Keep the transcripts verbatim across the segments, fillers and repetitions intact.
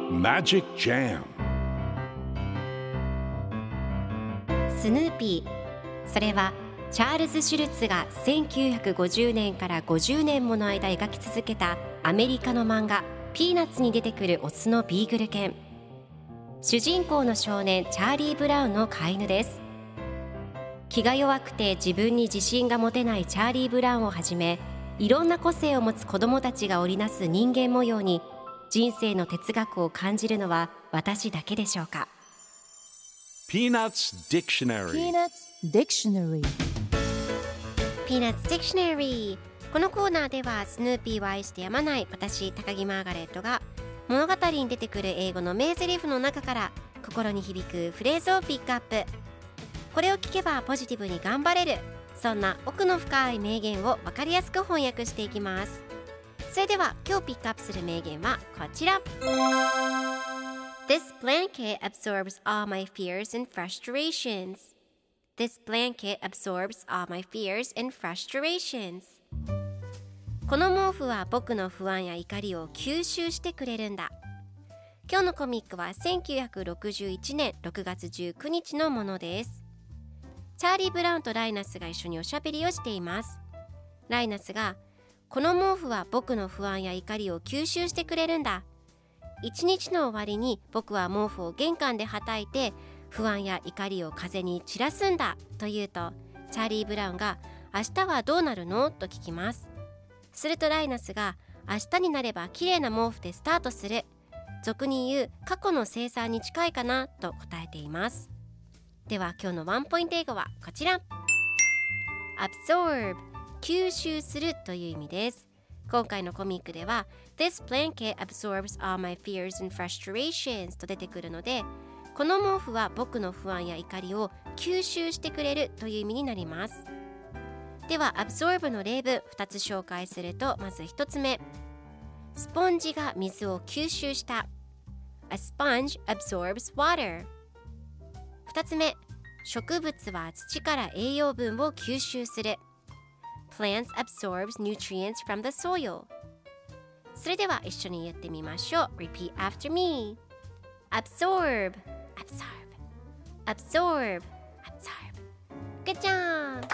Magic Jam スヌーピー、それはチャールズ・シュルツがせんきゅうひゃくごじゅうねんからごじゅうねんもの間描き続けたアメリカの漫画ピーナッツに出てくるオスのビーグル犬。主人公の少年チャーリー・ブラウンの飼い犬です。気が弱くて自分に自信が持てないチャーリー・ブラウンをはじめ、いろんな個性を持つ子どもたちが織りなす人間模様に人生の哲学を感じるのは私だけでしょうか。 Peanuts Dictionary Peanuts Dictionary Peanuts Dictionary。 このコーナーではスヌーピーを愛してやまない私高木マーガレットが物語に出てくる英語の名台詞の中から心に響くフレーズをピックアップ。これを聞けばポジティブに頑張れる、そんな奥の深い名言を分かりやすく翻訳していきます。それでは今日ピックアップする名言はこちら。 This blanket absorbs all my fears and frustrations. This blanket absorbs all my fears and frustrations. この毛布は僕の不安や怒りを吸収してくれるんだ。今日のコミックはせんきゅうひゃくろくじゅういちねんろくがつじゅうくにちのものです。チャーリー・ブラウンとライナスが一緒におしゃべりをしています。ライナスが、この毛布は僕の不安や怒りを吸収してくれるんだ。一日の終わりに僕は毛布を玄関ではたいて不安や怒りを風に散らすんだと言うと、チャーリー・ブラウンが、明日はどうなるのと聞きます。するとライナスが、明日になれば綺麗な毛布でスタートする、俗に言う過去の生産に近いかなと答えています。では今日のワンポイント英語はこちら。 Absorb、 吸収するという意味です。今回のコミックでは This blanket absorbs all my fears and frustrations と出てくるので、この毛布は僕の不安や怒りを吸収してくれるという意味になります。では Absorb の例文ふたつ紹介すると、まずひとつめ、スポンジが水を吸収した。 A sponge absorbs water。 ふたつめ、植物は土から栄養分を吸収する。 Plants absorbs nutrients from the soil。 それでは一緒に言ってみましょう。 Repeat after me。 Absorb Absorb Absorb Absorb。 Good job。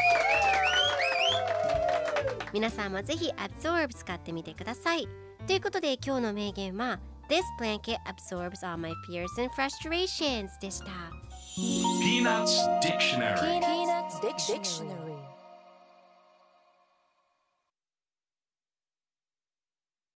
皆さんもぜひ Absorb 使ってみてください。ということで今日の名言は This blanket absorbs all my fears and frustrations でした。 Peanuts Dictionary Peanuts Dictionary